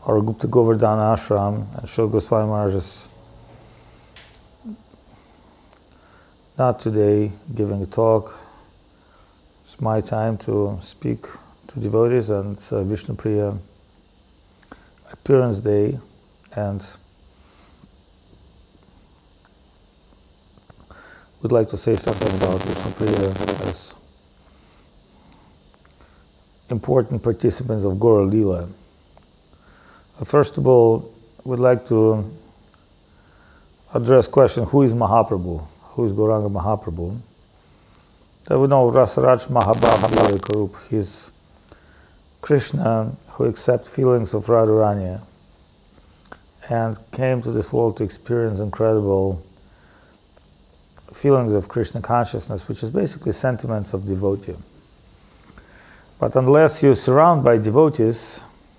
our Gupta Govardhana Ashram, and Srila Goswami Maharaj is not today giving a talk. It's my time to speak to devotees, and it's Vishnu Priya appearance day, and we'd like to say something about Vishnu Priya as important participants of Gaura Leela. First of all, we'd like to address question, who is Mahaprabhu? Who is Gauranga Mahaprabhu? That we know Rasaraj Mahabhava Karup. He's Krishna who accepts feelings of Radharani and came to this world to experience incredible feelings of Krishna consciousness, which is basically sentiments of devotee. But unless you're surrounded by devotees,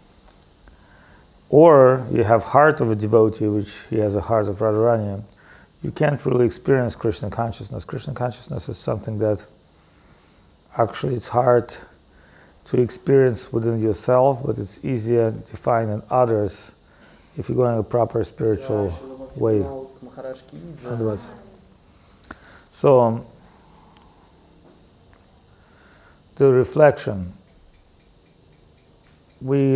or you have heart of a devotee, which he has a heart of Radharani, you can't really experience Krishna consciousness. Krishna consciousness is something that actually it's hard to experience within yourself, but it's easier to find in others if you're going a proper spiritual way. So, the reflection. We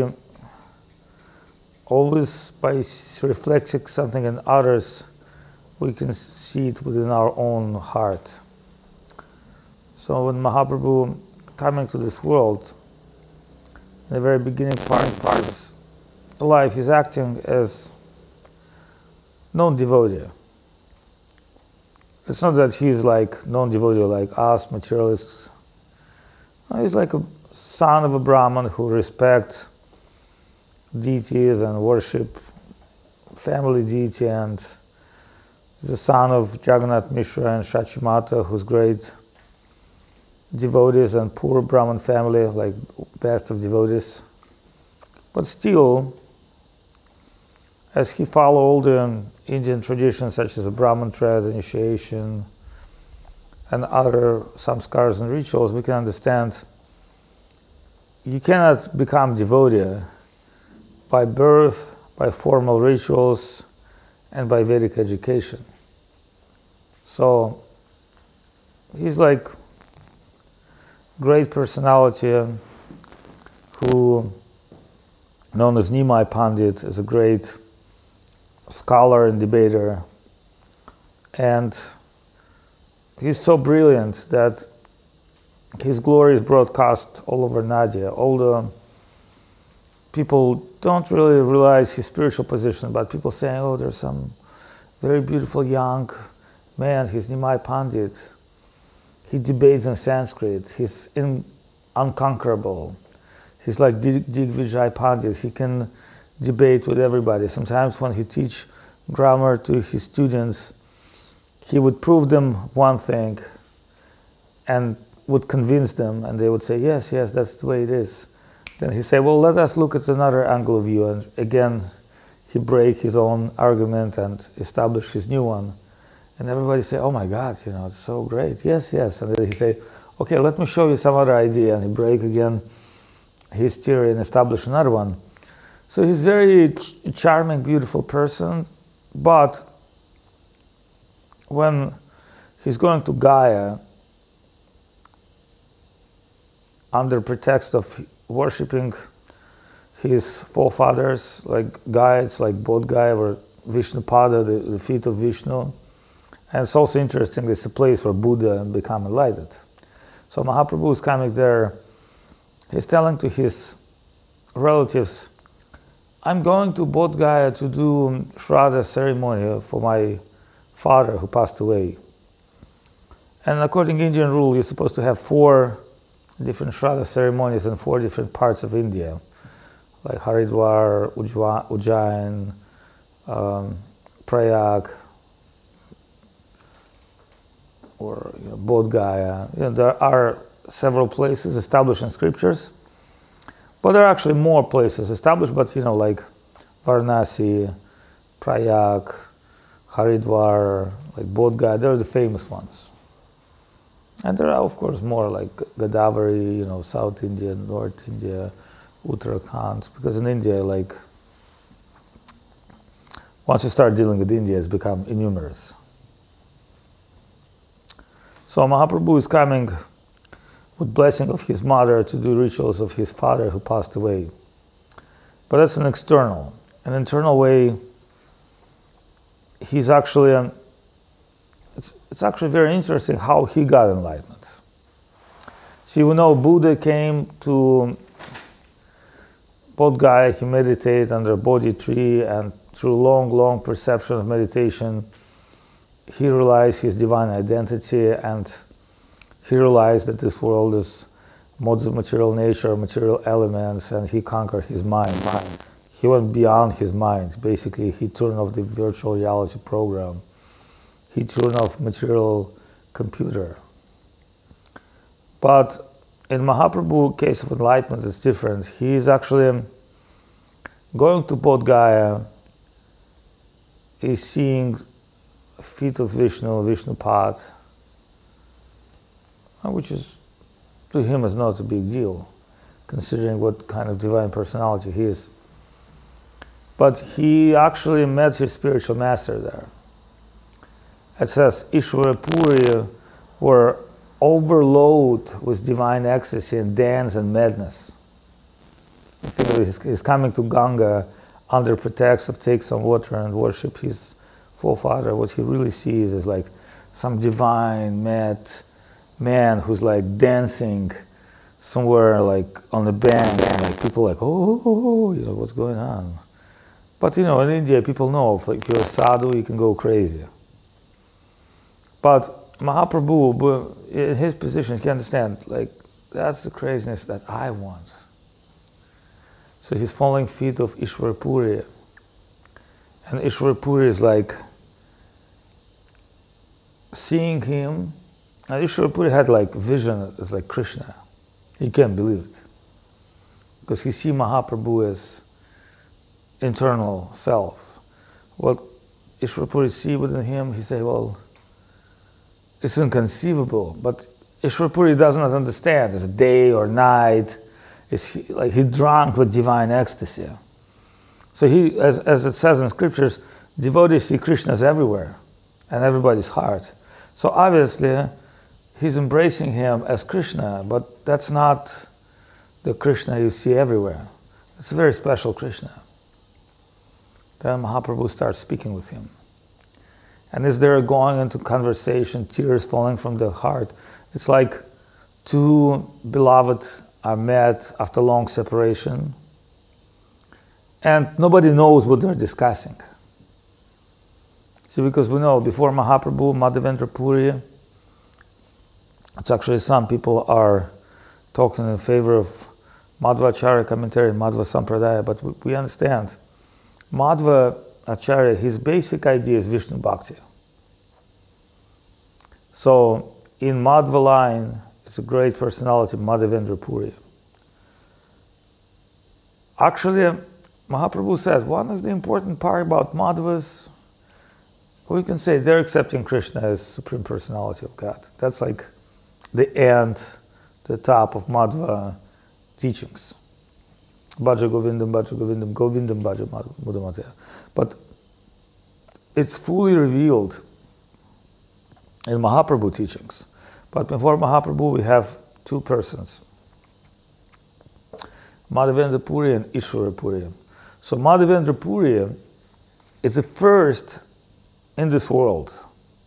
always, by reflecting something in others, we can see it within our own heart. So when Mahaprabhu coming to this world, in the very beginning part of his life, he's acting as non-devotee. It's not that he's like non-devotee like us, materialists. No, he's like a son of a Brahman who respect deities and worship family deity, and he's the son of Jagannath Mishra and Shachimata, who's great devotees, and poor Brahman family, like best of devotees. But still, as he followed all the Indian traditions such as the Brahman thread, initiation, and other samskars and rituals, we can understand you cannot become devotee by birth, by formal rituals, and by Vedic education. So he's like great personality who, known as Nimai Pandit, is a great scholar and debater, and he's so brilliant that his glory is broadcast all over Nadia. All the people don't really realize his spiritual position, but people saying, oh, there's some very beautiful young man, he's Nimai Pandit. He debates in Sanskrit, he's unconquerable. He's like Digvijay Pandit, he can debate with everybody. Sometimes when he teach grammar to his students, he would prove them one thing and would convince them, and they would say, yes, that's the way it is. Then he say, well, let us look at another angle of view, and again, he break his own argument and establish his new one. And everybody say, oh my God, it's so great. Yes. And then he say, okay, let me show you some other idea. And he break again his theory and establish another one. So he's very charming, beautiful person. But when he's going to Gaya, under pretext of worshipping his forefathers, like Gaya, it's like Bodh Gaya or Vishnupada, the feet of Vishnu. And it's also interesting, it's a place where Buddha became enlightened. So Mahaprabhu is coming there, he's telling to his relatives, I'm going to Bodh Gaya to do Shraddha ceremony for my father who passed away. And according to Indian rule, you're supposed to have 4 different Shraddha ceremonies in 4 different parts of India, like Haridwar, Ujjain, Prayag, or Bodh Gaya. There are several places established in scriptures, but there are actually more places established, but like Varanasi, Prayag, Haridwar, like Bodh Gaya, they're the famous ones. And there are, of course, more like Godavari, South India, North India, Uttarakhand, because in India, like once you start dealing with India, it's become innumerous. So Mahaprabhu is coming with blessing of his mother to do rituals of his father who passed away. But that's an external. An internal way, he's actually, it's actually very interesting how he got enlightenment. See, we know Buddha came to Bodh Gaya, he meditated under a Bodhi tree, and through long perception of meditation, he realized his divine identity, and he realized that this world is modes of material nature, material elements, and he conquered his mind. He went beyond his mind. Basically, he turned off the virtual reality program. He turned off material computer. But in Mahaprabhu's case of enlightenment, it's different. He is actually going to Bodh Gaya. He's seeing feet of Vishnu, Vishnupad, which is, to him, is not a big deal, considering what kind of divine personality he is. But he actually met his spiritual master there. It says, Ishvara Puri were overloaded with divine ecstasy and dance and madness. He's coming to Ganga under pretext of take some water and worship his forefather. What he really sees is like some divine mad man who's like dancing somewhere like on the bank, and like people like, oh, you know, what's going on? But you know, in India, people know if you're a sadhu, you can go crazy. But Mahaprabhu, in his position, he understands, like, that's the craziness that I want. So he's following feet of Ishvara Puri. And Ishvara Puri is like seeing him. And Ishvara Puri had like vision as like Krishna. He can't believe it. Because he sees Mahaprabhu as internal self. What Ishvara Puri see within him, he say, well, it's inconceivable. But Ishvara Puri does not understand. It's day or night. He's drunk with divine ecstasy. So he, as it says in scriptures, devotees see Krishna's everywhere, and everybody's heart. So obviously, he's embracing him as Krishna, but that's not the Krishna you see everywhere. It's a very special Krishna. Then Mahaprabhu starts speaking with him. And as they're going into conversation, tears falling from the heart, it's like two beloved are met after long separation, and nobody knows what they're discussing. See, because we know before Mahaprabhu, Madhavendra Puri, it's actually some people are talking in favor of Madhvacharya commentary, Madhva Sampradaya, but we understand Madhva Acharya, his basic idea is Vishnu Bhakti. So in Madhva line, it's a great personality, Madhavendra Puri. Actually, Mahaprabhu says, one is the important part about Madhvas, we can say they're accepting Krishna as Supreme Personality of God. That's like the end, the top of Madhva teachings. Bhaja Govindam, Bhaja Govindam, Govindam Bhaja Mudamataya. But it's fully revealed in Mahaprabhu teachings. But before Mahaprabhu, we have two persons, Madhavendra Puri and Ishvara Puri. So Madhavendra Puri is the first in this world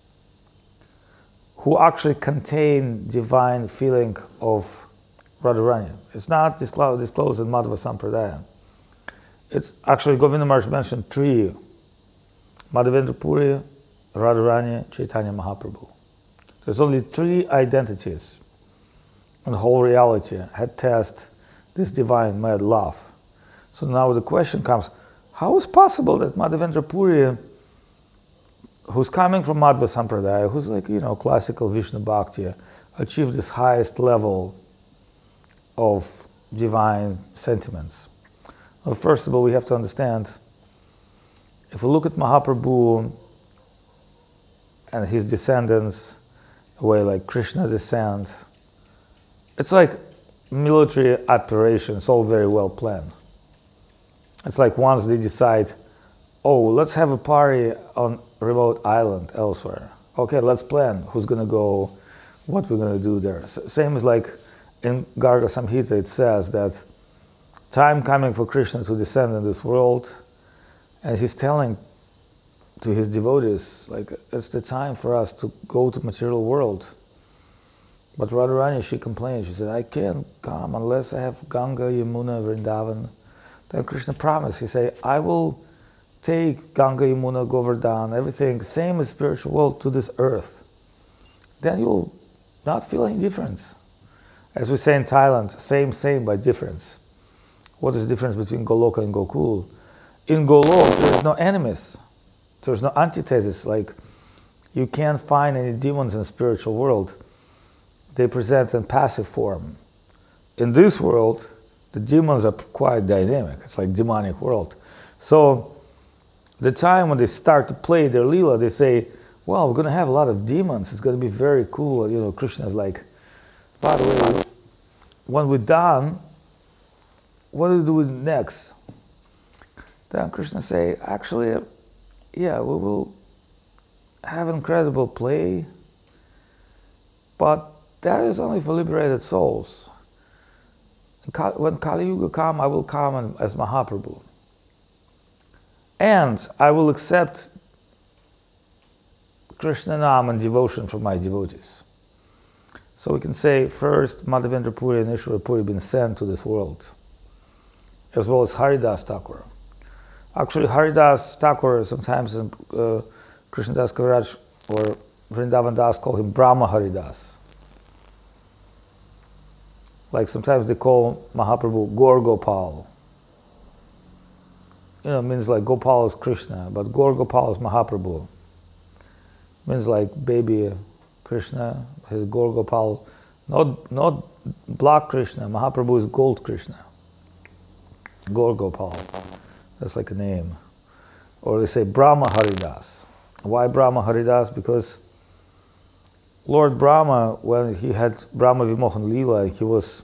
who actually contain divine feeling of Radharani. It's not disclosed in Madhva Sampradaya. It's actually, Govinda Maharaj mentioned three: Madhavendra Puri, Radharani, Chaitanya Mahaprabhu. There's only three identities in the whole reality had test this divine mad love. So now the question comes, how is possible that Madhavendra Puri, who's coming from Madhva Sampradaya, who's like, you know, classical Vishnu Bhakti, achieved this highest level of divine sentiments? Well, first of all, we have to understand, if we look at Mahaprabhu and his descendants, the way like Krishna descend, it's like military operations, all very well planned. It's like once they decide oh, let's have a party on remote island elsewhere. Okay, let's plan who's gonna go, what we're gonna do there. Same as like in Garga Samhita, it says that time coming for Krishna to descend in this world, and he's telling to his devotees, like, it's the time for us to go to material world. But Radharani, she complained, she said, I can't come unless I have Ganga, Yamuna, Vrindavan. Then Krishna promised, he said, I will take Ganga, Yamuna, Govardhan, everything, same as spiritual world, to this earth. Then you'll not feel any difference. As we say in Thailand, same by difference. What is the difference between Goloka and Gokul? In Golok, there is no enemies. There's no antithesis, like you can't find any demons in the spiritual world. They present in passive form. In this world, the demons are quite dynamic. It's like demonic world. So the time when they start to play their lila, they say, well, we're going to have a lot of demons. It's going to be very cool. You know, Krishna is like, by the way, when we're done, what do we do next? Then Krishna say, actually, yeah, we will have incredible play, but that is only for liberated souls. When Kali Yuga come, I will come as Mahaprabhu. And I will accept Krishna Nam and devotion from my devotees. So we can say first Madhavendra Puri and Ishvara Puri been sent to this world, as well as Haridas Thakur. Actually, Haridas Thakur, sometimes Krishnadas Kaviraj or Vrindavan Das call him Brahma Haridas. Like sometimes they call Mahaprabhu Gaur Gopal. You know, it means like Gopal is Krishna, but Gaur Gopal is Mahaprabhu. Means like baby Krishna, his Gaur Gopal, not black Krishna. Mahaprabhu is gold Krishna. Gaur Gopal. That's like a name. Or they say Brahma Haridas. Why Brahma Haridas? Because Lord Brahma, when he had Brahma Vimohan Leela, he was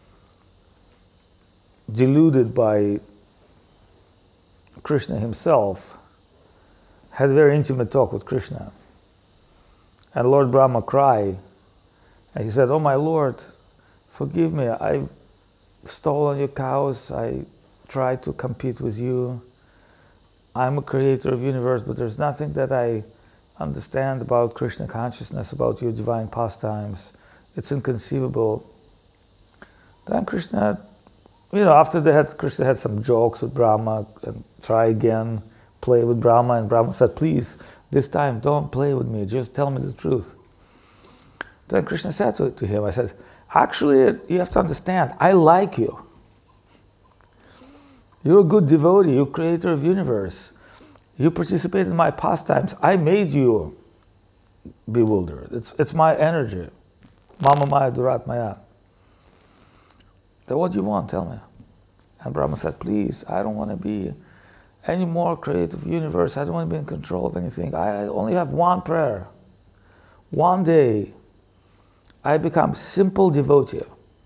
deluded by Krishna himself, had a very intimate talk with Krishna. And Lord Brahma cried, and he said, oh my Lord, forgive me, I've stolen your cows, I tried to compete with you. I'm a creator of universe, but there's nothing that I understand about Krishna consciousness, about your divine pastimes. It's inconceivable. Then Krishna, you know, after Krishna had some jokes with Brahma, and try again, play with Brahma, and Brahma said, please, this time don't play with me, just tell me the truth. Then Krishna said to him, I said, actually, you have to understand, I like you. You're a good devotee, you're creator of universe. You participate in my pastimes. I made you bewildered. It's my energy. Mama Maya Durat Maya. Then what do you want? Tell me. And Brahma said, please, I don't want to be any more creative universe. I don't want to be in control of anything. I only have one prayer. One day, I become simple devotee.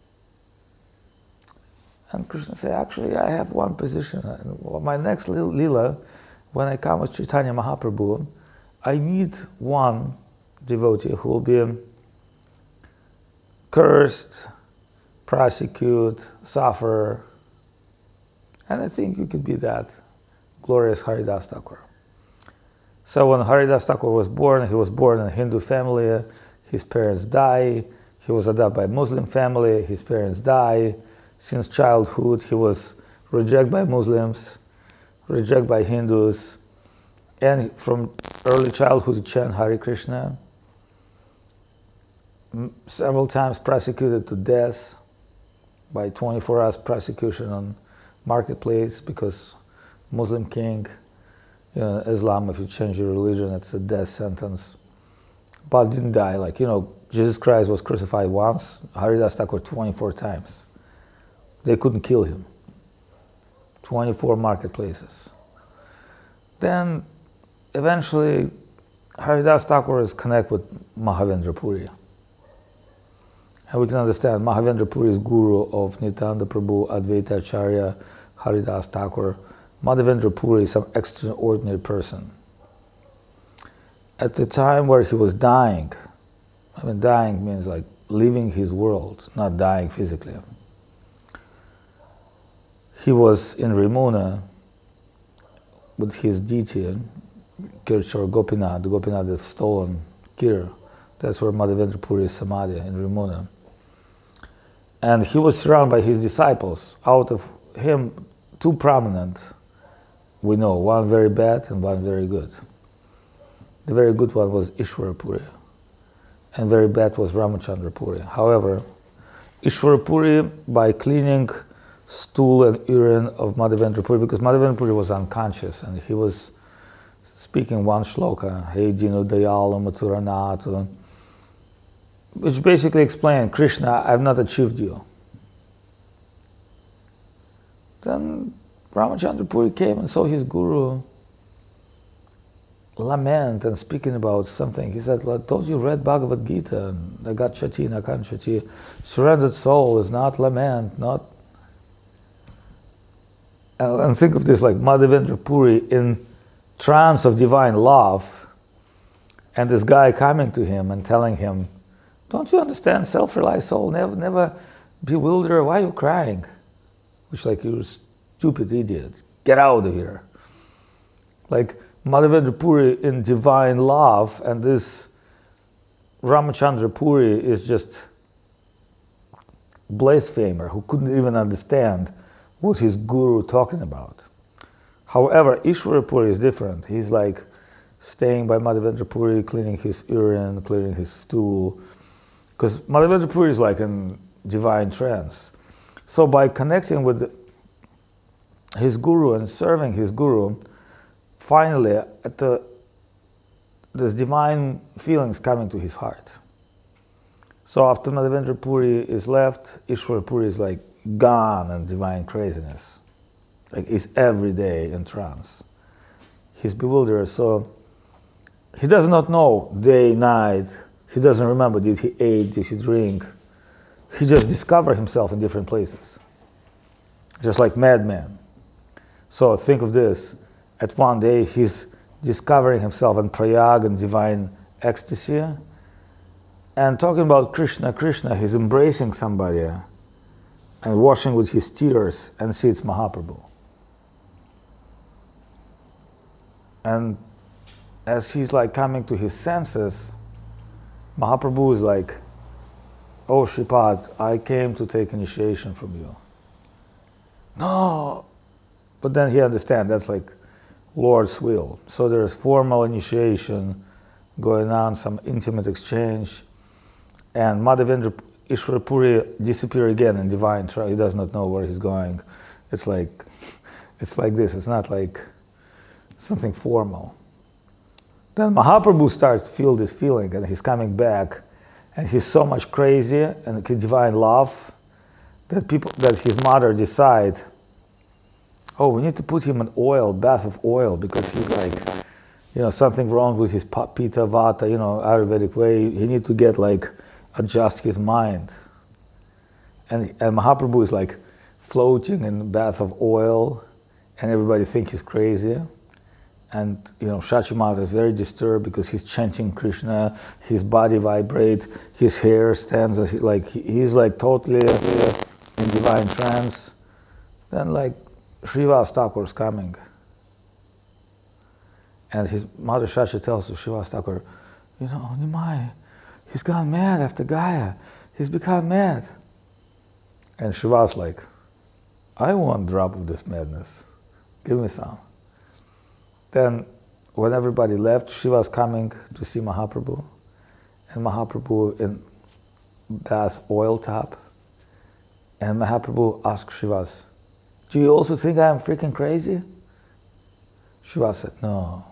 And Krishna said, actually, I have one position. My next lila, when I come as Chaitanya Mahaprabhu, I need one devotee who will be cursed, prosecute, suffer. And I think you could be that glorious Haridas Thakur. So when Haridas Thakur was born, he was born in a Hindu family. His parents died. He was adopted by a Muslim family. His parents died. Since childhood, he was rejected by Muslims, rejected by Hindus, and from early childhood he chanted Hare Krishna, several times prosecuted to death by 24 hours prosecution on marketplace because Muslim king, you know, Islam, if you change your religion, it's a death sentence. But didn't die. Like, you know, Jesus Christ was crucified once, Haridas Thakur 24 times. They couldn't kill him. 24 marketplaces. Then eventually Haridas Thakur is connected with Mahavendra Puri. And we can understand Mahavendra Puri is guru of Nityananda Prabhu, Advaita Acharya, Haridas Thakur. Madhavendra Puri is some extraordinary person. At the time where he was dying, I mean dying means like leaving his world, not dying physically. He was in Ramuna with his deity, Kirchor Gopinath. Gopinath had stolen Kir. That's where Madhavendra Puri is Samadhi, in Ramuna. And he was surrounded by his disciples. Out of him, two prominent, we know, one very bad and one very good. The very good one was Ishvara Puri, and very bad was Ramachandra Puri. However, Ishvara Puri, by cleaning stool and urine of Madhavendra Puri, because Madhavendra Puri was unconscious and he was speaking one shloka, Hey Dinu Dayala Mathuranatu, which basically explained, Krishna, I have not achieved you. Then Ramachandra Puri came and saw his guru lament and speaking about something. He said, don't you read Bhagavad Gita? Nagat Chati, Nakan Chati. Surrendered soul is not lament, not. And think of this like Madhavendra Puri in trance of divine love, and this guy coming to him and telling him, don't you understand, self-realized soul, never bewilder, why are you crying? Which like, you stupid idiot, get out of here. Like Madhavendra Puri in divine love, and this Ramachandra Puri is just blasphemer who couldn't even understand what his guru talking about. However, Ishvara Puri is different. He's like staying by Madhavendra Puri, cleaning his urine, clearing his stool, because Madhavendra Puri is like in divine trance. So by connecting with his guru and serving his guru, finally this divine feelings coming to his heart. So after Madhavendra Puri is left, Ishvara Puri is like gone in divine craziness. Like he's every day in trance. He's bewildered, so he does not know day, night. He doesn't remember, did he eat, did he drink? He just discovered himself in different places. Just like madman. So think of this, at one day he's discovering himself in Prayag and divine ecstasy, and talking about Krishna, he's embracing somebody and washing with his tears, and sees Mahaprabhu. And as he's like coming to his senses, Mahaprabhu is like, oh Shripad, I came to take initiation from you. No! But then he understands that's like Lord's will. So there's formal initiation going on, some intimate exchange, and Madhavendra Ishvara Puri disappear again in divine trance. He does not know where he's going. It's like this. It's not like something formal. Then Mahaprabhu starts to feel this feeling, and he's coming back, and he's so much crazy and divine love that his mother decide, oh, we need to put him in oil, bath of oil, because he's like, something wrong with his Pitta Vata, Ayurvedic way. He needs to get like adjust his mind. And Mahaprabhu is like floating in a bath of oil, and everybody thinks he's crazy. And Shachimata is very disturbed because he's chanting Krishna, his body vibrates, his hair stands as he's like totally in divine trance. Then like Srivas Thakur is coming. And his mother Shachi tells to Srivas Thakur, Nimai, he's gone mad after Gaya. He's become mad. And Srivas like, I want a drop of this madness. Give me some. Then when everybody left, Shiva's coming to see Mahaprabhu. And Mahaprabhu in bath oil tub. And Mahaprabhu asked Shivas, do you also think I am freaking crazy? Shiva said, no.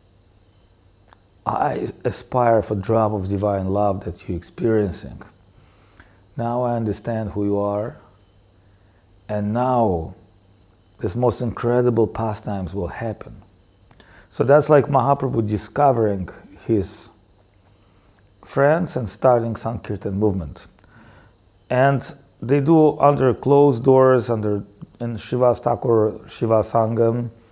I aspire for a drop of divine love that you're experiencing. Now I understand who you are. And now this most incredible pastimes will happen. So that's like Mahaprabhu discovering his friends and starting Sankirtan movement. And they do under closed doors, in Srivas Thakur Shiva Sangam,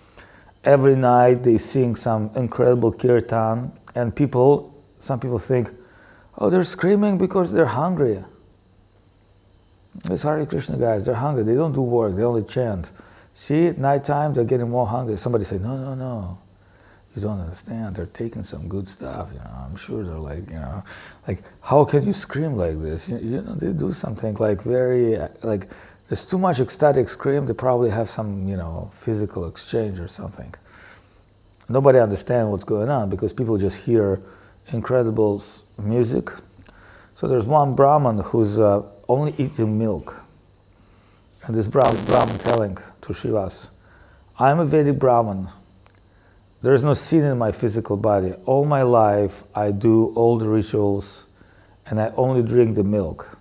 every night they sing some incredible kirtan, and some people think, oh, they're screaming because they're hungry. These Hare Krishna guys, they're hungry. They don't do work. They only chant. See, at nighttime, they're getting more hungry. Somebody said, no, no, no. You don't understand. They're taking some good stuff. I'm sure they're like, like, how can you scream like this? They do something like there's too much ecstatic scream. They probably have some, physical exchange or something. Nobody understands what's going on because people just hear incredible music. So there's one Brahman who's only eating milk. And this Brahman telling to Shivas, I'm a Vedic Brahman. There is no sin in my physical body. All my life, I do all the rituals, and I only drink the milk.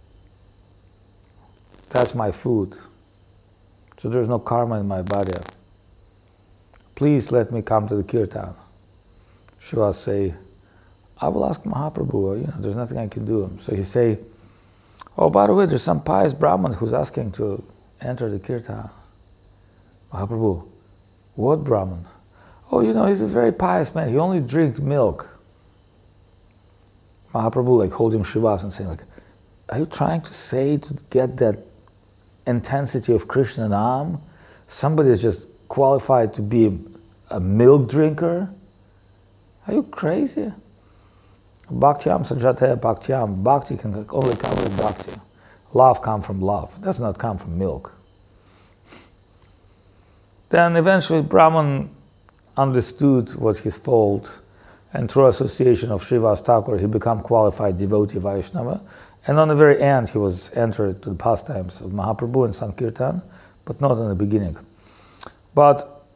That's my food. So there's no karma in my body. Please let me come to the kirtan. Shivas say, I will ask Mahaprabhu, there's nothing I can do. So he say, oh, by the way, there's some pious Brahman who's asking to enter the kirtan. Mahaprabhu, what Brahman? Oh, he's a very pious man. He only drinks milk. Mahaprabhu like holding Shivas and saying like, are you trying to say to get that intensity of Krishna Nam, somebody is just qualified to be a milk drinker? Are you crazy? Bhaktyam sajate bhaktyam. Bhakti can only come with bhakti. Love comes from love. It does not come from milk. Then eventually Brahman understood what his fault, and through association of Srivas Thakur, he became qualified devotee Vaishnava. And on the very end, he was entered to the pastimes of Mahaprabhu and Sankirtan, but not in the beginning. But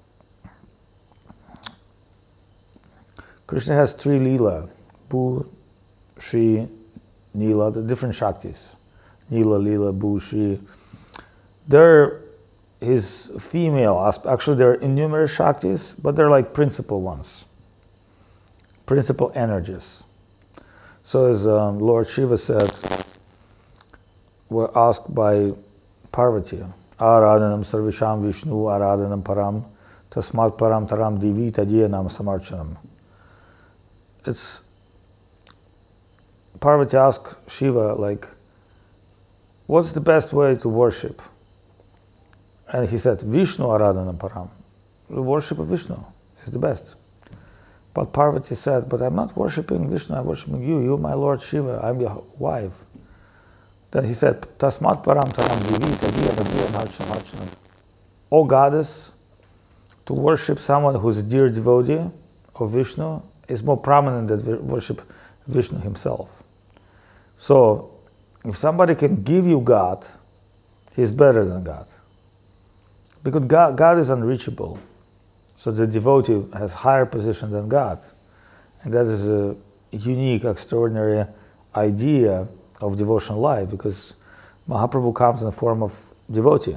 Krishna has 3 Leela, Bhu, Shri, Nila, the different Shaktis. Nila, Leela, Bhu, Shri. They're his female aspect. Actually, there are innumerable Shaktis, but they're like principal ones, principal energies. So as Lord Shiva said, were asked by Parvati, Aradhanam Sarvisham Vishnu Aradhanam Param Tasmat Param Taram Divi Tadyanam Samarchanam. It's Parvati asked Shiva, like, what's the best way to worship? And he said, Vishnu Aradhanam Param. The worship of Vishnu is the best. But Parvati said, but I'm not worshipping Vishnu, I'm worshipping you. You're my Lord Shiva, I'm your wife. Then he said, Tasmat Param Taram Divi Tadyanam. O goddess, to worship someone who's a dear devotee of Vishnu is more prominent than worship Vishnu himself. So, if somebody can give you God, he's better than God. Because God is unreachable. So the devotee has higher position than God. And that is a unique, extraordinary idea of devotional life, because Mahaprabhu comes in the form of devotee.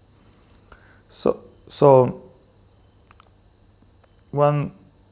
So when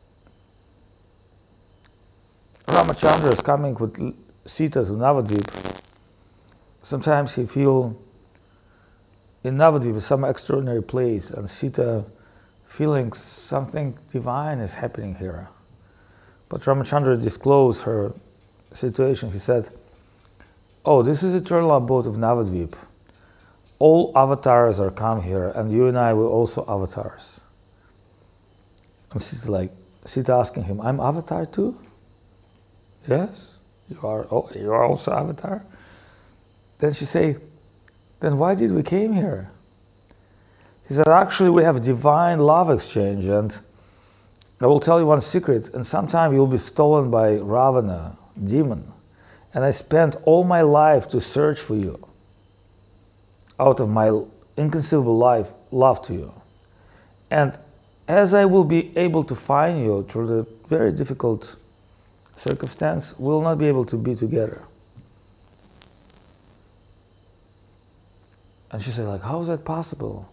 Ramachandra is coming with Sita to Navadvip, sometimes he feels in Navadvip is some extraordinary place, and Sita feeling something divine is happening here. But Ramachandra disclosed her situation. He said, oh, this is eternal abode of Navadvip. All avatars are come here, and you and I were also avatars. And Sita asking him, I'm avatar too? Yes, you are also avatar? Then she say, then why did we came here? He said, actually we have divine love exchange, and I will tell you one secret, and sometime you'll be stolen by Ravana, demon, and I spent all my life to search for you, out of my inconceivable love to you. And as I will be able to find you through the very difficult circumstance, we will not be able to be together. And she said, like, how is that possible?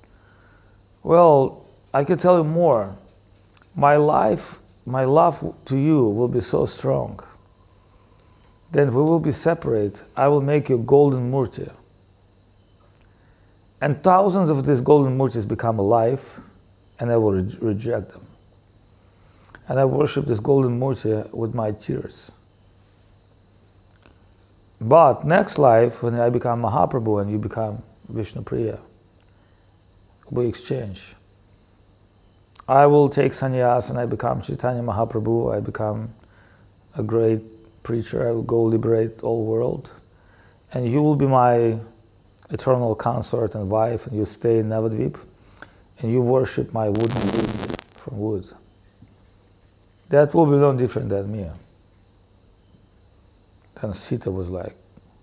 Well, I can tell you more. My love to you will be so strong. Then we will be separate. I will make you golden murti. And thousands of these golden murtis become alive. and I will reject them. And I worship this golden Murti with my tears. But next life, when I become Mahaprabhu and you become Vishnupriya, we exchange. I will take sannyas and I become Chaitanya Mahaprabhu. I become a great preacher. I will go liberate all world. And you will be my eternal consort and wife, and you stay in Navadvip, and you worship my wooden Murti from wood. That will be no different than me. Then Sita was like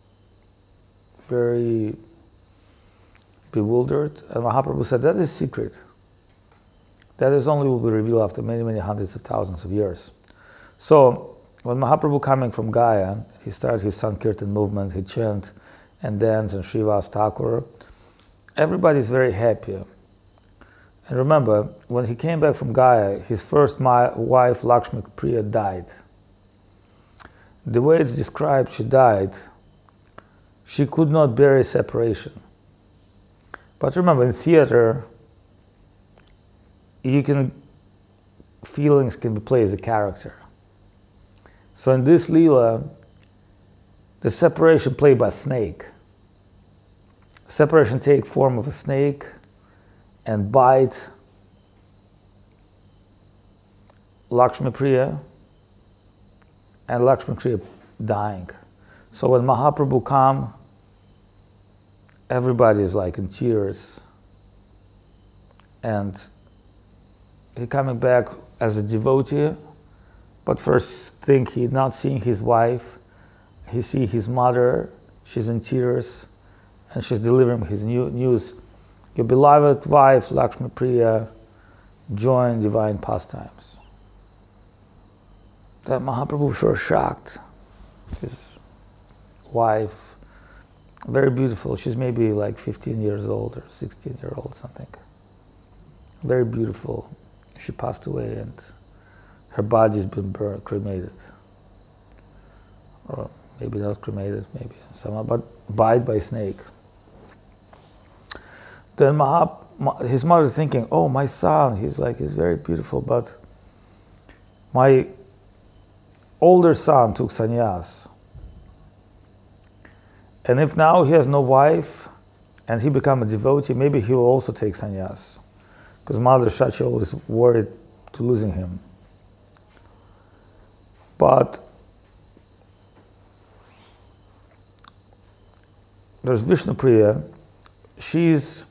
very bewildered, and Mahaprabhu said, that is secret. That is only will be revealed after many, many hundreds of thousands of years. So when Mahaprabhu coming from Gaya, he started his Sankirtan movement, he chant and dance and Srivas Thakur. Everybody is very happy. And remember, when he came back from Gaya, his first wife, Lakshmi Priya, died. The way it's described, she died, she could not bear separation. But remember, in theater, feelings can be played as a character. So in this Leela, the separation played by snake. Separation take form of a snake and bite Lakshmi Priya, and Lakshmi Priya dying. So when Mahaprabhu come, everybody is like in tears, and he coming back as a devotee, but first thing he not seeing his wife, he see his mother, she's in tears, and she's delivering his news. Your beloved wife, Lakshmi Priya, joined divine pastimes. That Mahaprabhu was so shocked. His wife, very beautiful, she's maybe like 15 years old or 16-year-old, something. Very beautiful. She passed away and her body's been cremated. Or maybe not cremated, maybe somehow, but bite by snake. Then his mother thinking, oh, my son, he's very beautiful, but my older son took sannyas. And if now he has no wife and he become a devotee, maybe he will also take sannyas. Because Mother Shachi always worried to losing him. But there's Vishnupriya. She's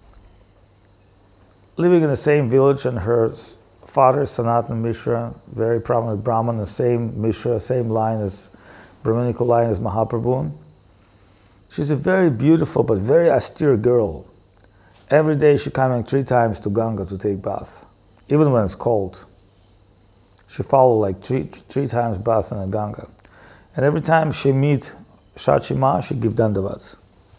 living in the same village, and her father, Sanatan Mishra, very prominent Brahman, the same Mishra, same line as Brahminical line as Mahaprabhu. She's a very beautiful but very austere girl. Every day she coming 3 times to Ganga to take bath, even when it's cold. She follow like three times bath in the Ganga. And every time she meet Shachima, she give dandavat.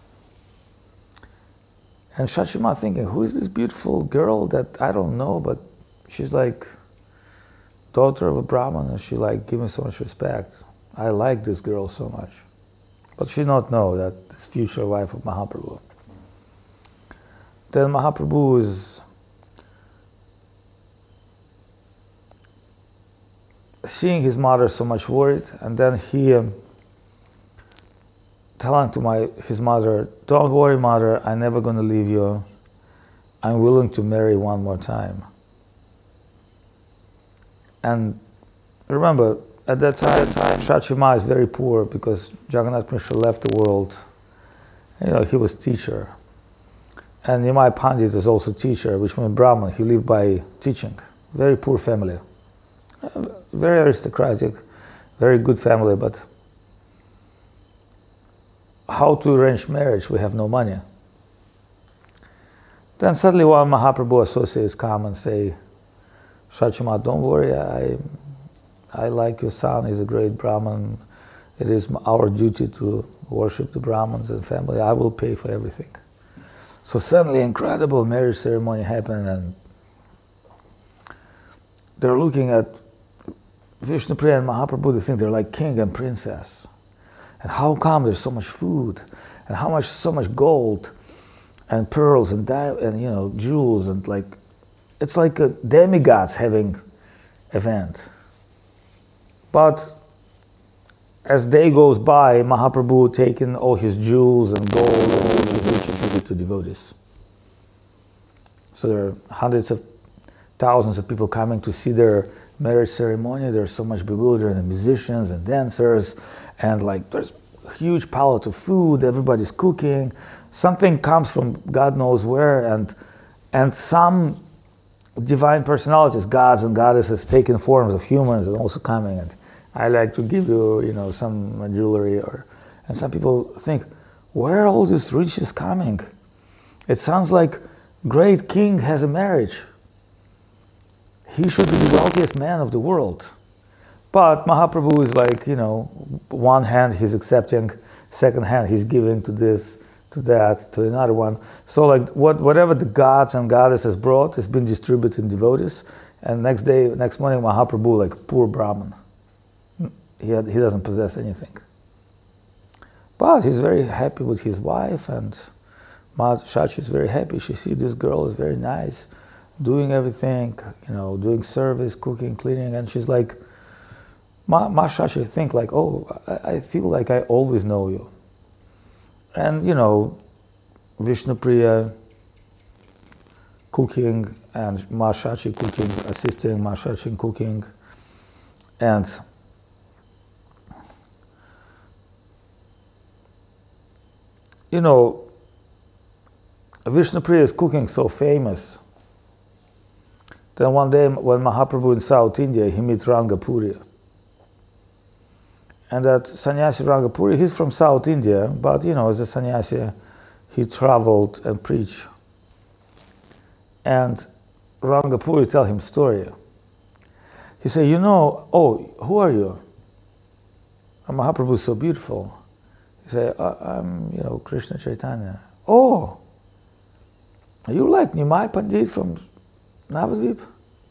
And Shachima thinking, who is this beautiful girl that I don't know, but she's like daughter of a Brahman, and she like give me so much respect. I like this girl so much. But she not know that this future wife of Mahaprabhu. Then Mahaprabhu is seeing his mother so much worried, and then he telling to his mother, don't worry, mother, I'm never going to leave you. I'm willing to marry one more time. And remember, at that time, Shachima is very poor because Jagannath Mishra left the world. You know, he was teacher. And Nimai Pandit is also teacher, which means Brahman. He lived by teaching. Very poor family. Very aristocratic, very good family, but how to arrange marriage? We have no money. Then suddenly one Mahaprabhu associates come and say, Shachima, don't worry, I like your son, he's a great Brahman. It is our duty to worship the Brahmins and family. I will pay for everything. So suddenly incredible marriage ceremony happened, and they're looking at Vishnupriya and Mahaprabhu. They think they're like king and princess. And how come there's so much food, and so much gold, and pearls and jewels, and like it's like a demigods having event. But as day goes by, Mahaprabhu taking all his jewels and gold and all his riches to give to devotees. So there are hundreds of thousands of people coming to see their marriage ceremony. There's so much bewildered, and musicians and dancers, and like there's a huge palette of food. Everybody's cooking. Something comes from God knows where, and some divine personalities, gods and goddesses, taking forms of humans and also coming. And I like to give you, some jewelry, and some people think, where are all these riches coming? It sounds like great king has a marriage. He should be the wealthiest man of the world. But Mahaprabhu is like, one hand he's accepting, second hand he's giving to this, to that, to another one. So like whatever the gods and goddesses brought has been distributed in devotees. And next morning Mahaprabhu, like poor Brahman, he doesn't possess anything. But he's very happy with his wife, and Ma Shachi is very happy. She sees this girl is very nice, doing everything, doing service, cooking, cleaning, and she's like, Ma Shachi think like, oh, I feel like I always know you. And Vishnupriya cooking and Ma Shachi cooking, assisting Ma Shachi in cooking, and Vishnupriya is cooking so famous. Then one day when Mahaprabhu in South India, he meets Rangapuri. And that sannyasi Rangapuri, he's from South India, but as a sannyasi, he traveled and preached. And Rangapuri tell him story. He said, oh, who are you? And Mahaprabhu is so beautiful. He said, I'm, Krishna Chaitanya. Oh, are you like Nimai Pandit from Navadvip?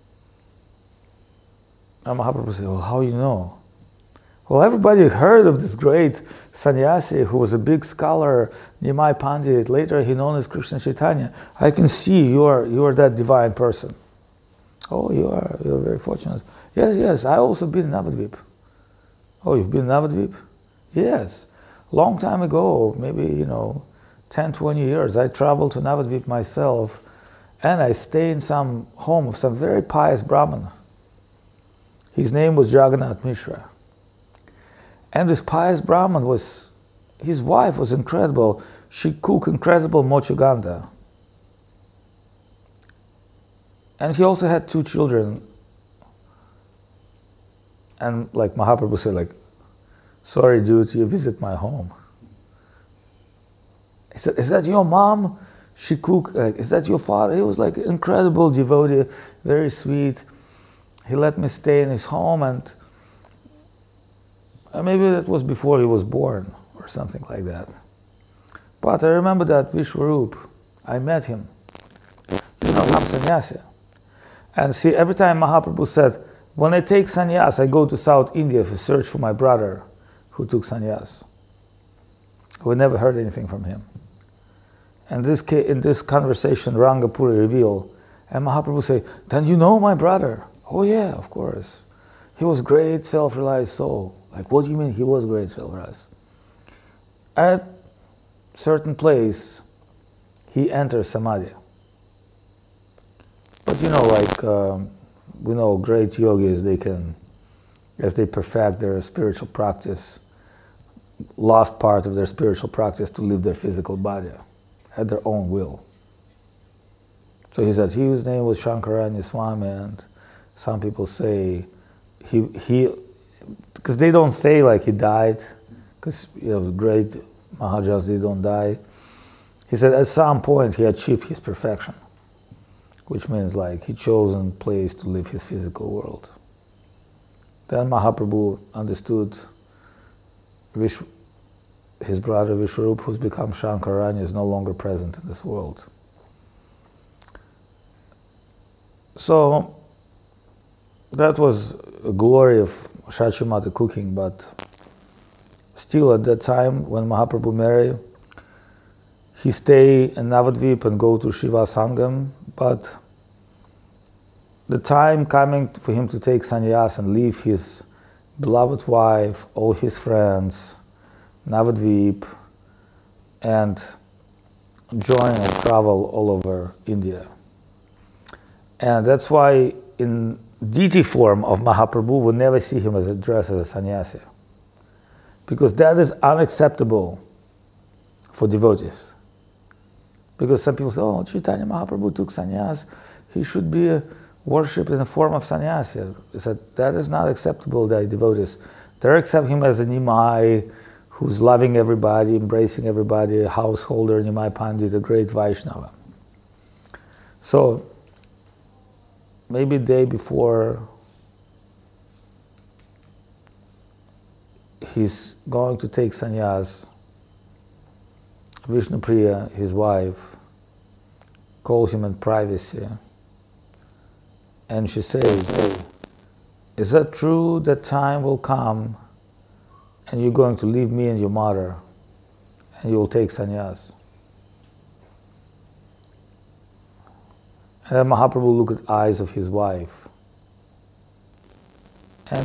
And Mahaprabhu said, well, how you know? Well, everybody heard of this great sannyasi who was a big scholar, Nimai Pandit. Later he known as Krishna Chaitanya. I can see you are that divine person. Oh, you're very fortunate. Yes, I also been in Navadvip. Oh, you've been in Navadvip? Yes. Long time ago, maybe 10, 20 years, I traveled to Navadvip myself, and I stayed in some home of some very pious Brahmin. His name was Jagannath Mishra. And this pious Brahmin his wife was incredible. She cooked incredible mochaganda. And he also had 2 children. And like Mahaprabhu said, like, sorry dude, you visit my home. He said, is that your mom? She cooked, is that your father? He was like incredible devotee, very sweet. He let me stay in his home, and maybe that was before he was born or something like that. But I remember that Vishwarup, I met him. He's an Aham sannyasi. And see, every time Mahaprabhu said, when I take sannyas, I go to South India to search for my brother who took sannyas. We never heard anything from him. And in this conversation, Rangapuri revealed, and Mahaprabhu said, then you know my brother? Oh yeah, of course. He was great self-realized soul. Like, what do you mean he was great self-realized? At certain place, he enters Samadhi. But we know great yogis, they can, as they perfect their spiritual practice, last part of their spiritual practice to leave their physical body at their own will. So he said his name was Shankaranya Swami, and some people say he because they don't say like he died, because great Maharajas, they don't die. He said at some point he achieved his perfection, which means like he chosen place to live his physical world. Then Mahaprabhu understood his brother Vishwarup, who's become Shankaranya, is no longer present in this world. So that was a glory of Shachi Mata cooking, but still at that time when Mahaprabhu married, he stay in Navadvip and go to Shiva Sangam, but the time coming for him to take sannyas and leave his beloved wife, all his friends, Navadvip, and join and travel all over India. And that's why in deity form of Mahaprabhu, we never see him as addressed as a sannyasi, because that is unacceptable for devotees. Because some people say, oh, Chaitanya Mahaprabhu took sannyas, he should be worshipped in the form of sannyasi. He said, that is not acceptable by devotees. They accept him as a Nimai, who's loving everybody, embracing everybody, a householder, Nimai Pandit, a great Vaishnava. So, maybe day before he's going to take sannyas, Vishnupriya, his wife, calls him in privacy, and she says, is that true that time will come and you're going to leave me and your mother and you will take sannyas? And then Mahaprabhu looked at the eyes of his wife, and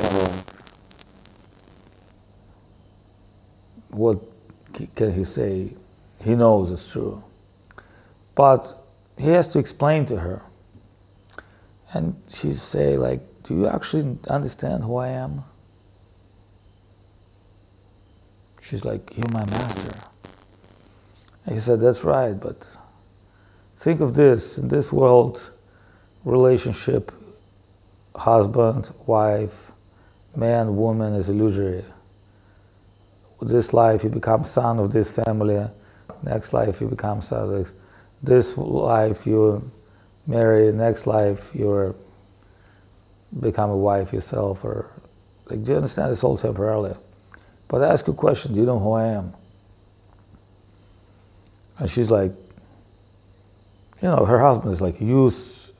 what can he say? He knows it's true. But he has to explain to her. And she say, like, do you actually understand who I am? She's like, you're my master. And he said, that's right, but think of this, in this world, relationship, husband, wife, man, woman is illusory. This life you become son of this family, next life you become son of this life you marry, next life you become a wife yourself, or like, do you understand? It's all temporarily. But I ask you a question, do you know who I am? And she's like, her husband is like, you're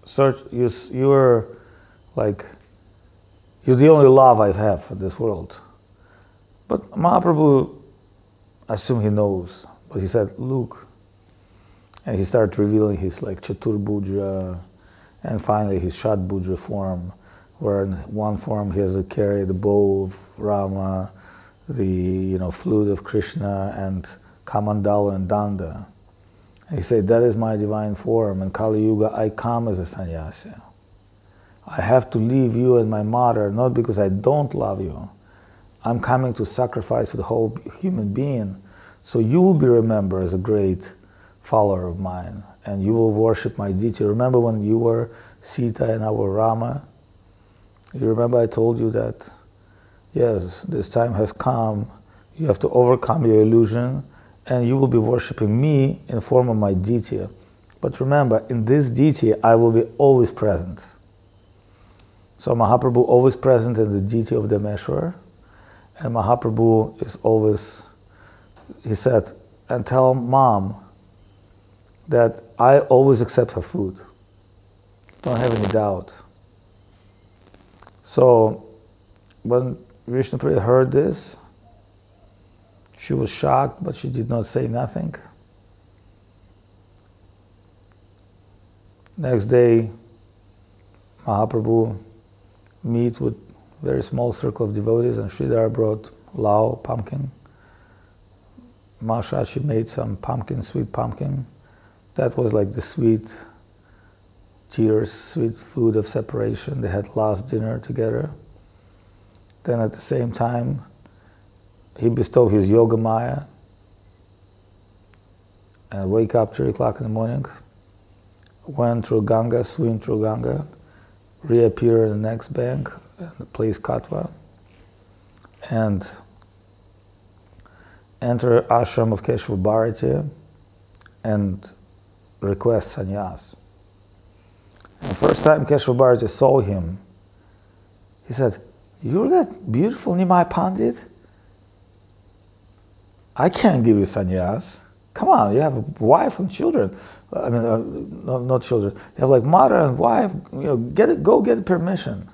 like, you're the only love I have in this world. But Mahaprabhu, I assume he knows, but he said, look, and he started revealing his like Chaturbhuja, and finally his Shatbhuja form, where in one form he has to carry the bow of Rama, the flute of Krishna, and Kamandala and Danda. And he said, that is my divine form. In Kali Yuga, I come as a sannyasi. I have to leave you and my mother, not because I don't love you. I'm coming to sacrifice for the whole human being. So you will be remembered as a great follower of mine, and you will worship my deity. Remember when you were Sita and I were Rama? You remember I told you that, yes, this time has come. You have to overcome your illusion, and you will be worshiping me in the form of my deity. But remember, in this deity, I will be always present. So Mahaprabhu always present in the deity of Dameshwar, and Mahaprabhu is always, he said, and tell mom that I always accept her food. Don't have any doubt. So when Vishnupriya heard this, she was shocked, but she did not say nothing. Next day, Mahaprabhu meet with very small circle of devotees, and Sridhar brought lao, pumpkin. Mashachi made some pumpkin, sweet pumpkin. That was like the sweet tears, sweet food of separation. They had last dinner together. Then at the same time, he bestowed his yoga maya and wake up 3 o'clock in the morning, went through Ganga, swim through Ganga, reappear in the next bank, the place Katwa, and enter ashram of Keshava Bharati and request sannyas. And the first time Keshava Bharati saw him, he said, you're that beautiful Nimai Pandit? I can't give you sannyas. Come on, you have a wife and children. I mean, not children. You have like mother and wife. Go get permission.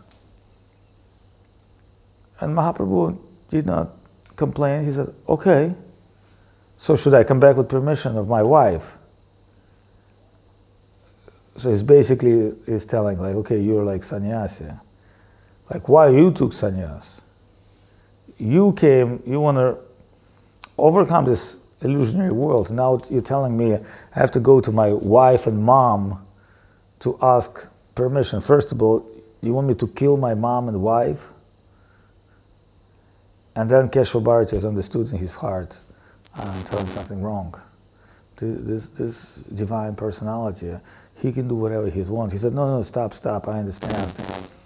And Mahaprabhu did not complain. He said, okay, so should I come back with permission of my wife? So it's basically is telling like, okay, you're like sannyasi. Like, why you took sannyas? You came, you want to overcome this illusionary world. Now you're telling me I have to go to my wife and mom to ask permission. First of all, you want me to kill my mom and wife? And then Keshava Bharati has understood in his heart, I'm telling something wrong. This divine personality, he can do whatever he wants. He said, no, stop, I understand.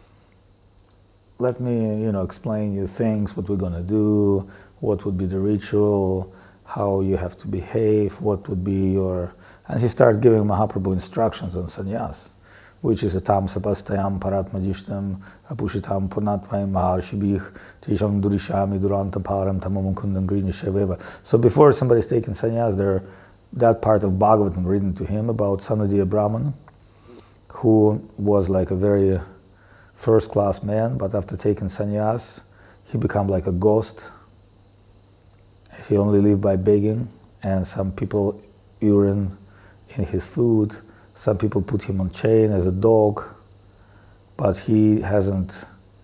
Let me, explain you things, what we're gonna do, what would be the ritual, how you have to behave, what would be your... And he started giving Mahaprabhu instructions on sannyas, which is atam sapastayam paratmadishtam apushitam purnatvaim maharshibih tisham durishami duranta param tamam kundam grinisheveva. So before somebody's taking sannyas, that part of Bhagavatam written to him about Sanadiya Brahman, who was like a very first-class man, but after taking sannyas, he became like a ghost. He only lived by begging, and some people urine in his food. Some people put him on chain as a dog, but he hasn't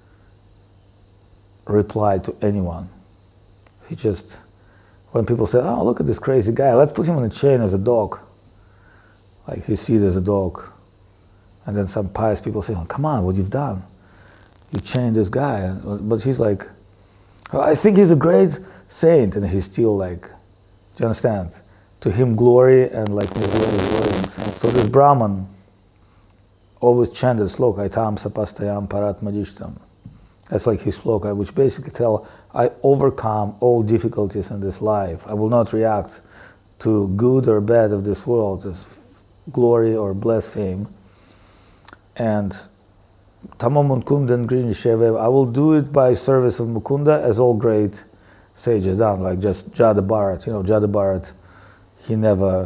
replied to anyone. He just, when people say, oh, look at this crazy guy, let's put him on a chain as a dog. Like he's seen as a dog. And then some pious people say, oh, come on, what you've done? You chained this guy. But he's like, oh, I think he's a great saint. And he's still like, do you understand? To him glory and like glory. So this Brahman always chanted sloka, itam sapastayam paratmadishtam. That's like his sloka, which basically tell, I overcome all difficulties in this life. I will not react to good or bad of this world, as glory or blaspheme. And tamam munkundan grinisheve, I will do it by service of Mukunda, as all great sages done, like just Jada Bharat. Jada Bharat, he never,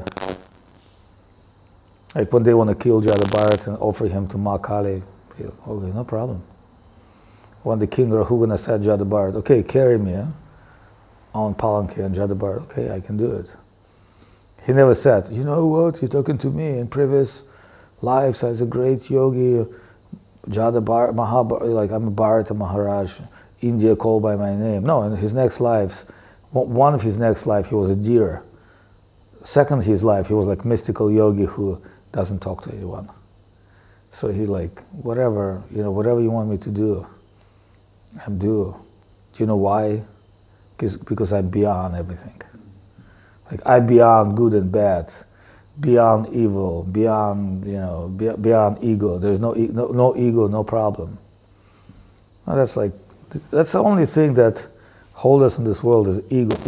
like when they want to kill Jada Bharat and offer him to Ma Kali, okay, no problem. When the king Rahugana said Jada Bharat, okay, carry me on Palanki, and Jada Bharat, okay, I can do it. He never said, you know what, you're talking to me in previous lives as a great yogi, Jada Bharat, like I'm a Bharata Maharaj, India called by my name. No, in his next lives, one of his next life, he was a deer. Second his life, he was like mystical yogi who doesn't talk to anyone. So he like, whatever you want me to do, I'm do. Do you know why? Because I'm beyond everything. Like I'm beyond good and bad, beyond evil, beyond beyond ego. There's no ego, no problem. Now that's the only thing that holds us in this world is ego.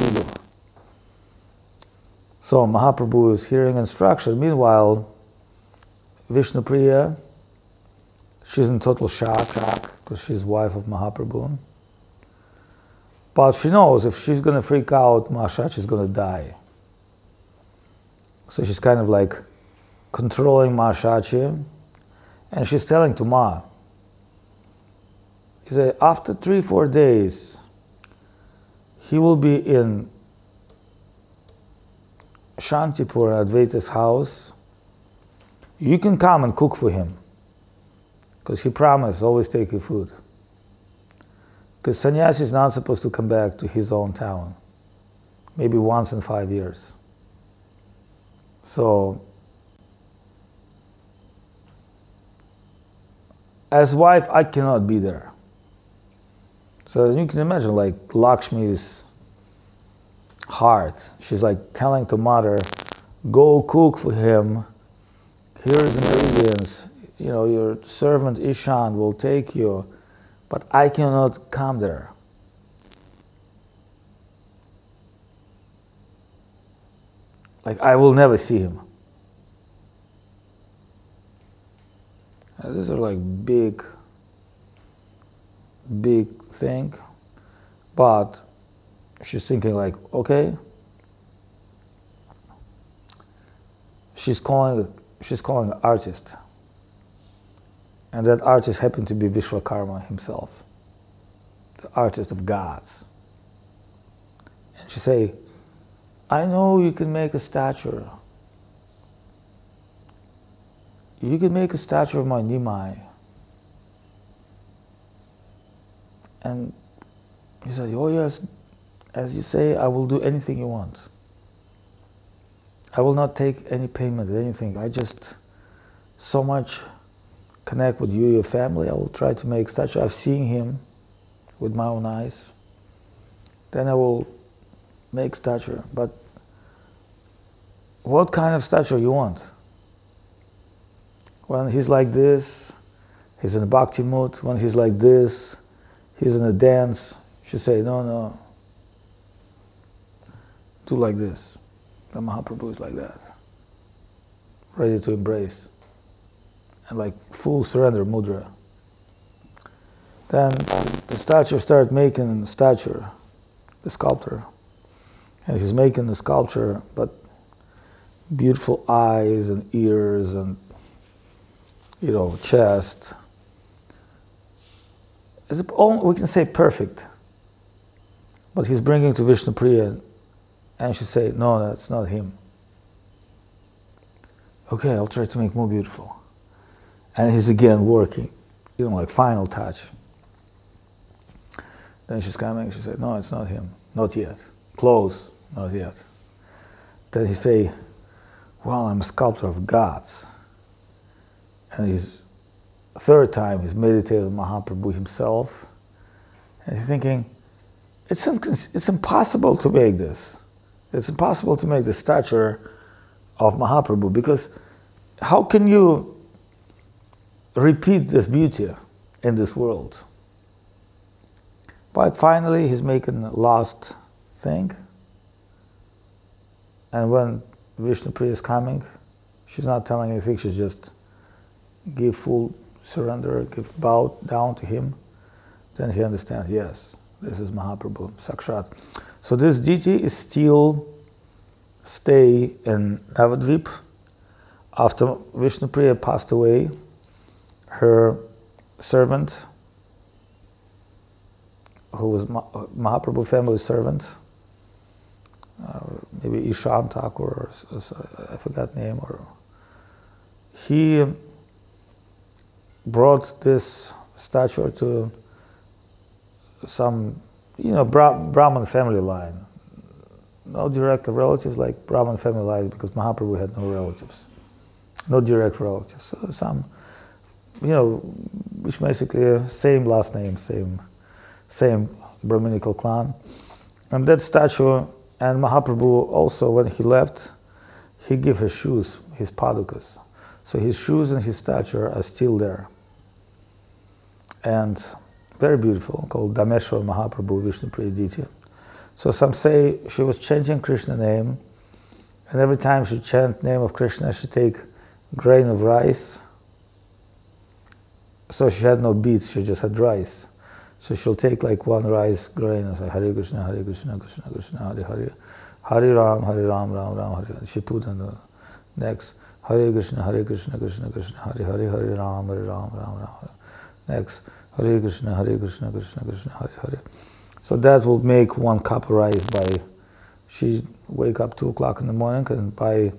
So Mahaprabhu is hearing instruction. Meanwhile, Vishnupriya, she's in total shock because she's wife of Mahaprabhu. But she knows if she's going to freak out, Maharaj is going to die. So she's kind of like controlling Mahashachi, and she's telling to Ma, he said, after 3-4 days, he will be in Shantipur, Advaita's house. You can come and cook for him, because he promised always take your food. Because sannyasi is not supposed to come back to his own town, maybe once in 5 years. So, as wife, I cannot be there. So you can imagine like Lakshmi's heart. She's like telling to mother, go cook for him. Here's ingredients. Your servant Ishan will take you, but I cannot come there. Like I will never see him. These are like big thing, but she's thinking like, okay. She's calling an artist, and that artist happened to be Vishwakarma himself, the artist of gods. And she say, I know you can make a statue. you can make a statue of my Nimai. And he said, oh yes, as you say, I will do anything you want. I will not take any payment, anything. I just so much connect with you, your family. I will try to make statue. I've seen him with my own eyes. Then I will make statue. But what kind of statue you want? When he's like this, he's in a bhakti mood. When he's like this, he's in a dance. She say, no, no, do like this. The Mahaprabhu is like that, ready to embrace, and like full surrender mudra. Then the statue started making statue, the sculptor, and he's making the sculpture, but beautiful eyes and ears and chest. We can say perfect, but he's bringing to Vishnupriya. And she said, no, that's not him. Okay, I'll try to make more beautiful. And he's again working, like final touch. Then she's coming, she said, no, it's not him, not yet. Close, not yet. Then he say, well, I'm a sculptor of gods. And his third time, he's meditating on Mahaprabhu himself. And he's thinking, it's impossible to make this. It's impossible to make the statue of Mahaprabhu, because how can you repeat this beauty in this world? But finally he's making the last thing, and when Vishnupriya is coming, she's not telling anything, she's just give full surrender, bow down to him. Then he understands, yes, this is Mahaprabhu, Sakshat. So this deity is still stay in Navadvip. After Vishnupriya passed away, her servant, who was Mahaprabhu family's servant, maybe Ishan Thakur, or I forgot name, or he brought this statue to some Brahman family line. No direct relatives like Brahman family line, because Mahaprabhu had no relatives. No direct relatives. So some, which basically same last name, same Brahminical clan. And that statue, and Mahaprabhu also, when he left, he gave his shoes, his padukas. So his shoes and his statue are still there. And very beautiful, called Dameshwar Mahaprabhu Vishnupriya deity. So some say she was chanting Krishna name, and every time she chant name of Krishna, she take grain of rice. So she had no beets, she just had rice. So she'll take like one rice grain and say Hare Krishna, Krishna Krishna, Hare Hare, Hare Ram, Ram Ram, Hare. She put in the next Hare Krishna, Krishna Krishna, Hare Hare, Hare Ram, Ram Ram. Next Hare Krishna, Krishna Krishna, Hare Hare. So that will make one cup of rice by, she wake up 2 o'clock in the morning, and by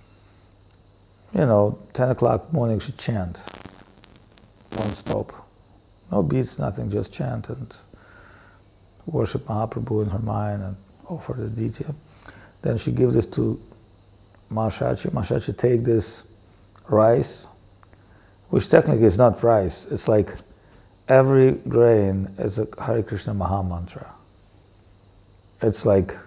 10 o'clock morning she chant, non-stop. No beats, nothing, just chant and worship Mahaprabhu in her mind and offer the deity. Then she give this to Mahashachi. Mahashachi take this rice, which technically is not rice, it's like every grain is a Hare Krishna Maha Mantra. It's like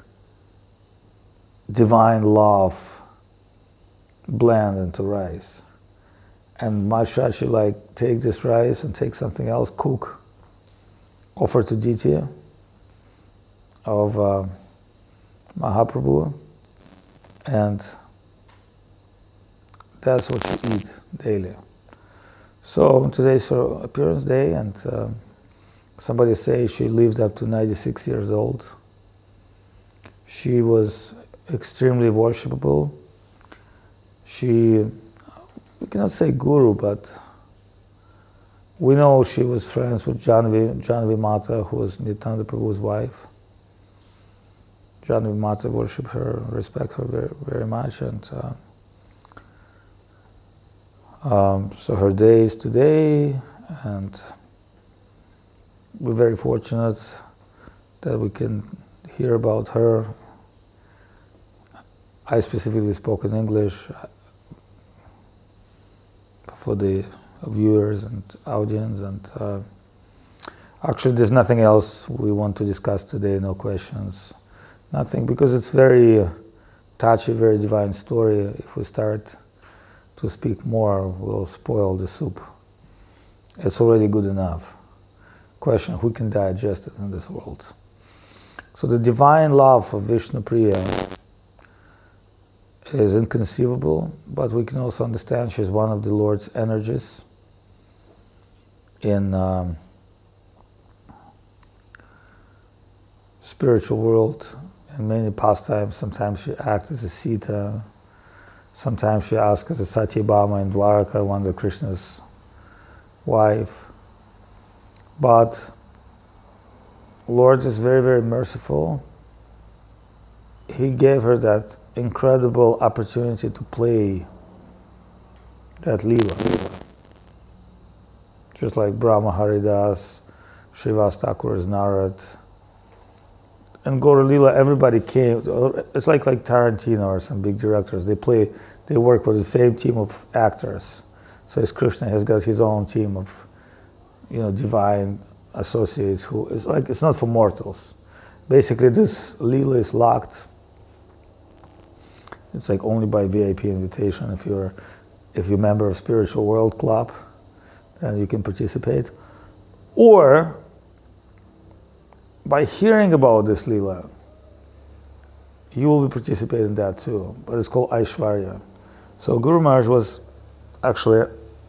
divine love blend into rice. And Mahashachi take this rice and take something else, cook, offer to deity of Mahaprabhu, and that's what she eat daily. So today's her appearance day, and somebody say she lived up to 96 years old. She was extremely worshipable. We cannot say guru, but we know she was friends with Janvi Mata, who was Nityananda Prabhu's wife. Janvi Mata worshipped her, respect her very, very much, and So her day is today, and we're very fortunate that we can hear about her. I specifically spoke in English for the viewers and audience, and actually there's nothing else we want to discuss today, no questions, nothing, because it's very touchy, very divine story. If we start to speak more, we'll spoil the soup. It's already good enough. Question, who can digest it in this world? So the divine love of Vishnu Priya is inconceivable, but we can also understand she's one of the Lord's energies in spiritual world. In many pastimes, sometimes she acts as a Sita, sometimes she acts as a Satyabhama in Dwaraka, one of Krishna's wife. But Lord is very, very merciful. He gave her that incredible opportunity to play that Leela. Just like Brahma Haridas, Srivas Thakur's Narad. And Gaura Leela, everybody came. It's like Tarantino or some big directors. They work with the same team of actors. So as Krishna has got his own team of, divine associates who is like, it's not for mortals. Basically, this Leela is locked. It's like only by VIP invitation. If you're a member of Spiritual World Club, then you can participate. Or by hearing about this Leela, you will be participating in that too. But it's called Aishwarya. So Guru Maharaj was actually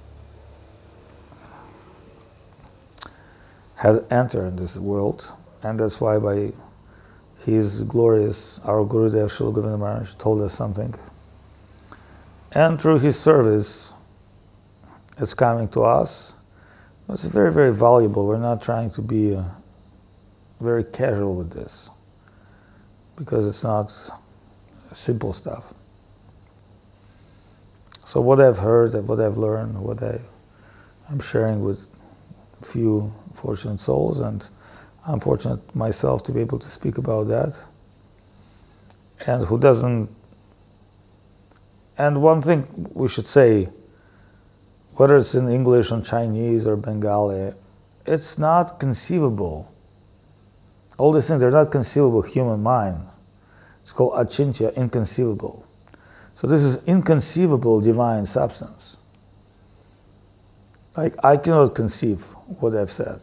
had entered this world, and that's why by his glorious, our Gurudev Srila Govinda Maharaj told us something. And through his service, it's coming to us. It's very, very valuable. We're not trying to be very casual with this, because it's not simple stuff. So what I've heard, what I've learned, what I'm sharing with a few fortunate souls, and I'm fortunate myself to be able to speak about that. And who doesn't, and one thing we should say, whether it's in English or Chinese or Bengali, it's not conceivable. All these things, they're not conceivable human mind. It's called achintya, inconceivable. So this is inconceivable divine substance. Like, I cannot conceive what I've said.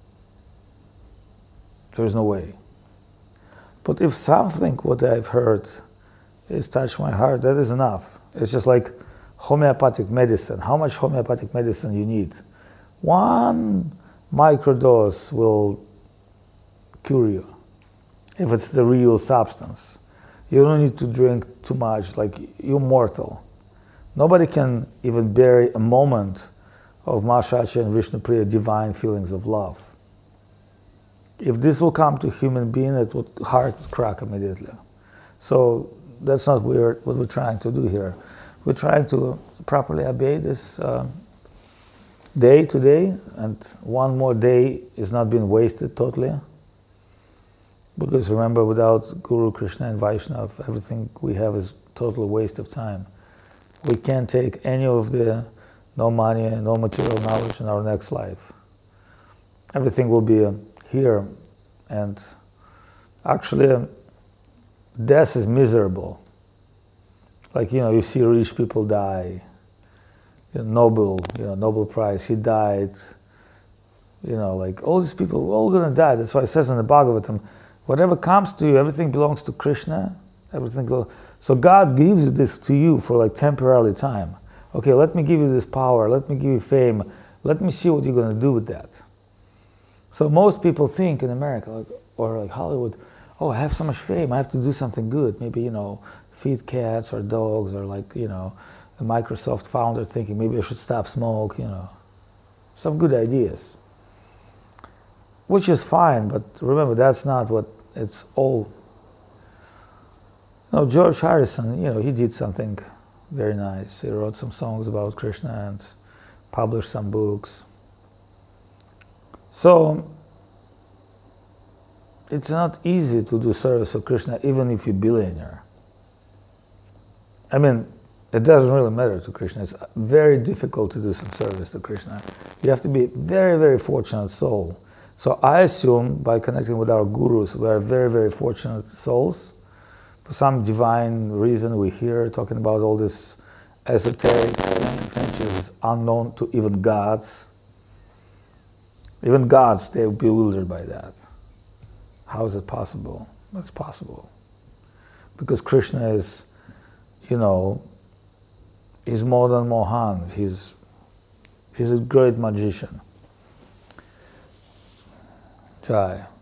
There's no way. But if something what I've heard is touched my heart, that is enough. It's just like homeopathic medicine. How much homeopathic medicine you need? One microdose will cure you, if it's the real substance. You don't need to drink too much, like you're mortal. Nobody can even bear a moment of Mahashacha and Vishnu Priya divine feelings of love. If this will come to a human being, it would heart would crack immediately. So that's not what we're trying to do here. We're trying to properly obey this day today, and one more day is not being wasted totally. Because remember, without Guru, Krishna and Vaishnava, everything we have is total waste of time. We can't take any of the no money, no material knowledge in our next life. Everything will be here, and actually death is miserable. Like, you see rich people die. Nobel Prize, he died. Like all these people, we're all gonna die. That's why it says in the Bhagavatam, whatever comes to you, everything belongs to Krishna. So God gives this to you for like temporary time. Okay, let me give you this power, let me give you fame, let me see what you're going to do with that. So most people think in America, or like Hollywood, oh, I have so much fame, I have to do something good. Maybe, feed cats or dogs, or like, a Microsoft founder thinking maybe I should stop smoke, some good ideas. Which is fine, but remember, that's not what it's all. George Harrison, he did something very nice. He wrote some songs about Krishna and published some books. So it's not easy to do service of Krishna even if you're a billionaire. I mean, it doesn't really matter to Krishna. It's very difficult to do some service to Krishna. You have to be a very, very fortunate soul. So I assume by connecting with our gurus, we are very, very fortunate souls. For some divine reason, we hear talking about all this esoteric things which is unknown to even gods. Even gods, they're bewildered by that. How is it possible? It's possible. Because Krishna is, you know, he's more than Mohan. He's a great magician. Jai.